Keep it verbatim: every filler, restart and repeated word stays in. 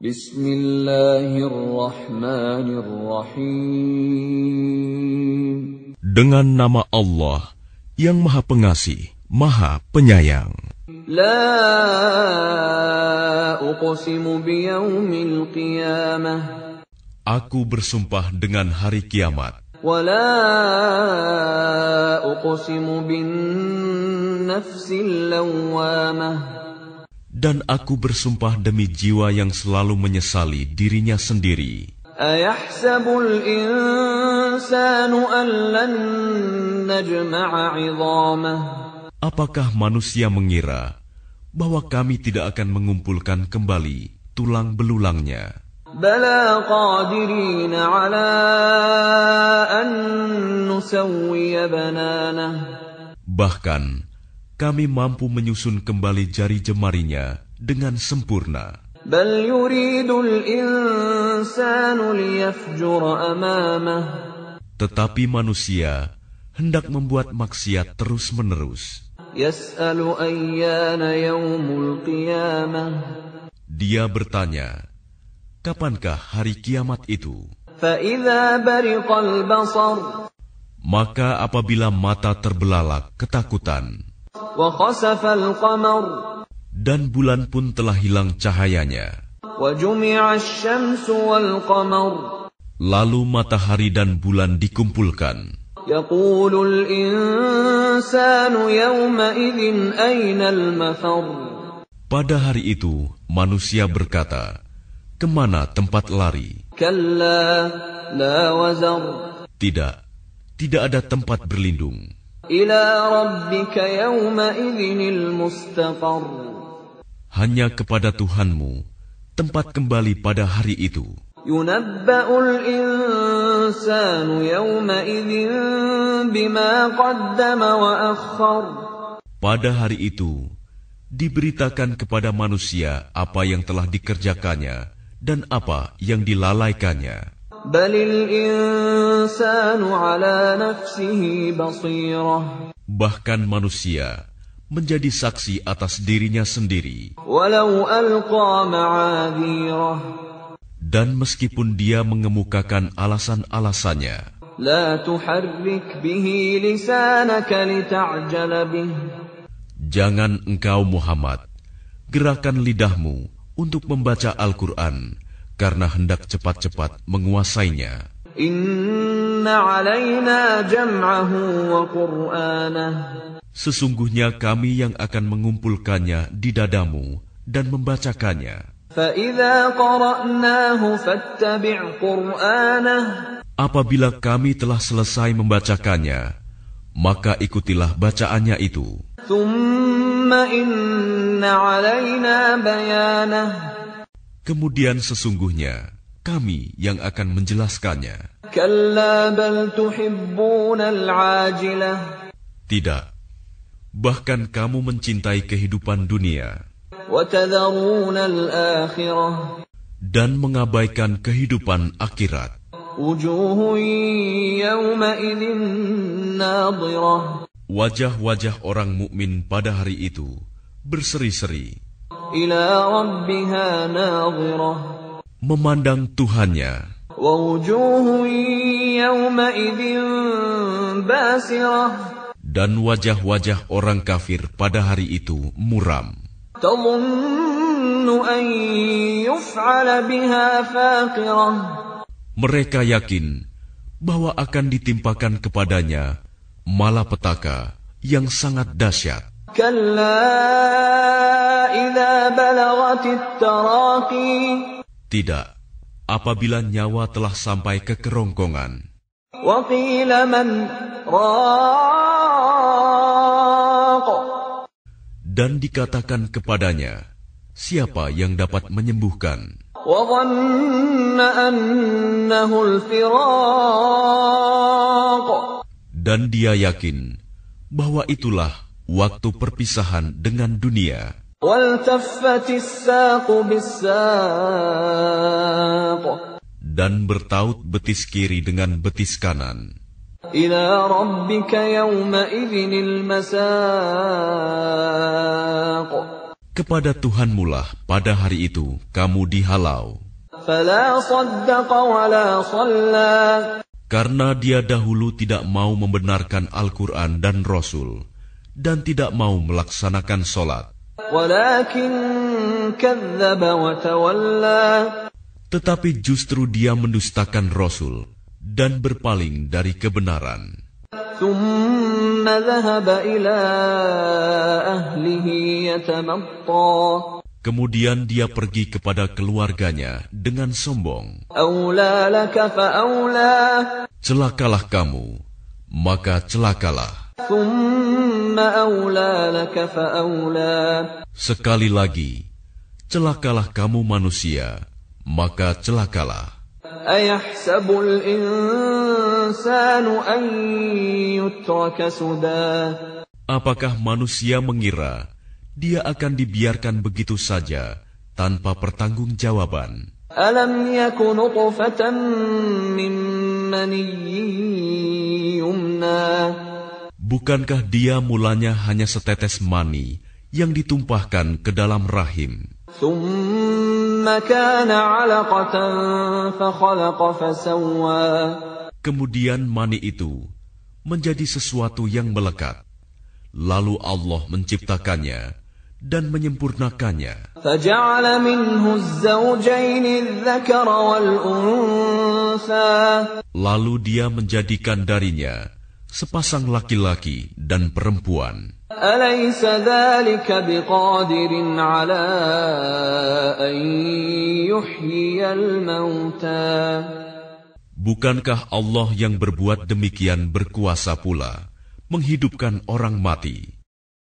Bismillahirrahmanirrahim. Dengan nama Allah yang Maha Pengasih, Maha Penyayang. La uqsimu biyaumil qiyamah. Aku bersumpah dengan hari kiamat. Wa la uqsimu bin nafsil lawwamah. Dan aku bersumpah demi jiwa yang selalu menyesali dirinya sendiri. Ayahsabul insanu an lan najma'a 'idhamah. Apakah manusia mengira bahwa kami tidak akan mengumpulkan kembali tulang belulangnya? Bala qadirina 'ala an nusawwiya bananah. Bahkan kami mampu menyusun kembali jari jemarinya dengan sempurna. Bal yuridul insanu liyafjura amamah. Tetapi manusia hendak membuat maksiat terus-menerus. Yas'alu ayyana yaumul qiyamah. Dia bertanya, kapankah hari kiamat itu? Fa idza bariqal basar. Maka apabila mata terbelalak ketakutan, Wa khasafal qamar. dan bulan pun telah hilang cahayanya, Wa jumi'asy syamsu wal qamar. lalu matahari dan bulan dikumpulkan, Yaqulul insanu yawma idzin aynal mafar. pada hari itu manusia berkata, kemana tempat lari? Kalla la wazar. Tidak, tidak ada tempat berlindung. Ila rabbika yawma idzinil mustaqar. Hanya kepada Tuhanmu tempat kembali pada hari itu. Yunabba'ul insanu yawma idzin bima qaddama wa akhkhar. Pada hari itu diberitakan kepada manusia apa yang telah dikerjakannya dan apa yang dilalaikannya. Balil insanu ala nafsihi basirah. Bahkan manusia menjadi saksi atas dirinya sendiri. Walau alqa ma'adhirah. Dan meskipun dia mengemukakan alasan-alasannya, La tuharrik bihi lisanaka lita'jala bih. jangan engkau Muhammad gerakan lidahmu untuk membaca Al-Quran karena hendak cepat-cepat menguasainya. Inna alaina jam'ahu wa qur'anah. Sesungguhnya kami yang akan mengumpulkannya di dadamu dan membacakannya. Fa idza qara'nahu fattabi' qur'anah. Apabila kami telah selesai membacakannya, maka ikutilah bacaannya itu. Thumma inna alaina bayanah. Kemudian sesungguhnya kami yang akan menjelaskannya. Kalla bal tuhibbunal 'ajilah. Tidak, bahkan kamu mencintai kehidupan dunia Wa tadharunal akhirah. dan mengabaikan kehidupan akhirat. Wujuhun yawma idzin nadhirah. Wajah-wajah orang mukmin pada hari itu berseri-seri, Ila rabbiha nadhirah. memandang Tuhannya. Wa wujuhun yawma idzin basirah. Dan wajah-wajah orang kafir pada hari itu muram. Tadhunnu an yuf'ala biha faqirah. Mereka yakin bahwa akan ditimpakan kepadanya malapetaka yang sangat dahsyat. Kalla idza balagatit taraqi. Tidak, apabila nyawa telah sampai ke kerongkongan, Wa qila man raq. dan dikatakan kepadanya, siapa yang dapat menyembuhkan? Wa dhanna annahu al-firaq. Dan dia yakin bahwa itulah waktu perpisahan dengan dunia. Waltaffatis saqu bis-saq. Dan bertaut betis kiri dengan betis kanan. Ila rabbika yawma idzinil masaq. Kepada Tuhanmulah pada hari itu kamu dihalau. فلا صدق ولا صلى Karena dia dahulu tidak mau membenarkan Al-Quran dan Rasul, dan tidak mau melaksanakan sholat. ولكن كذب وتولى Tetapi justru dia mendustakan Rasul dan berpaling dari kebenaran. ثم ذهب إلى أهله يتمطى Kemudian dia pergi kepada keluarganya dengan sombong. أولى لك فأولى Celakalah kamu, maka celakalah. ثم أولى لك فأولى Sekali lagi, celakalah kamu manusia, maka celakalah. أيحسب الإنسان أن يترك سدى Apakah manusia mengira dia akan dibiarkan begitu saja tanpa pertanggungjawaban? ألم يك نطفة من مني يمنى Bukankah dia mulanya hanya setetes mani yang ditumpahkan ke dalam rahim? ثم كان علقة فخلق فسوى Kemudian mani itu menjadi sesuatu yang melekat. Lalu Allah menciptakannya dan menyempurnakannya. فجعل منه الزوجين الذكر والأنثى Lalu dia menjadikan darinya sepasang laki-laki dan perempuan. أليس ذلك بقادر على أن يحيي الموتى Bukankah Allah yang berbuat demikian berkuasa pula menghidupkan orang mati?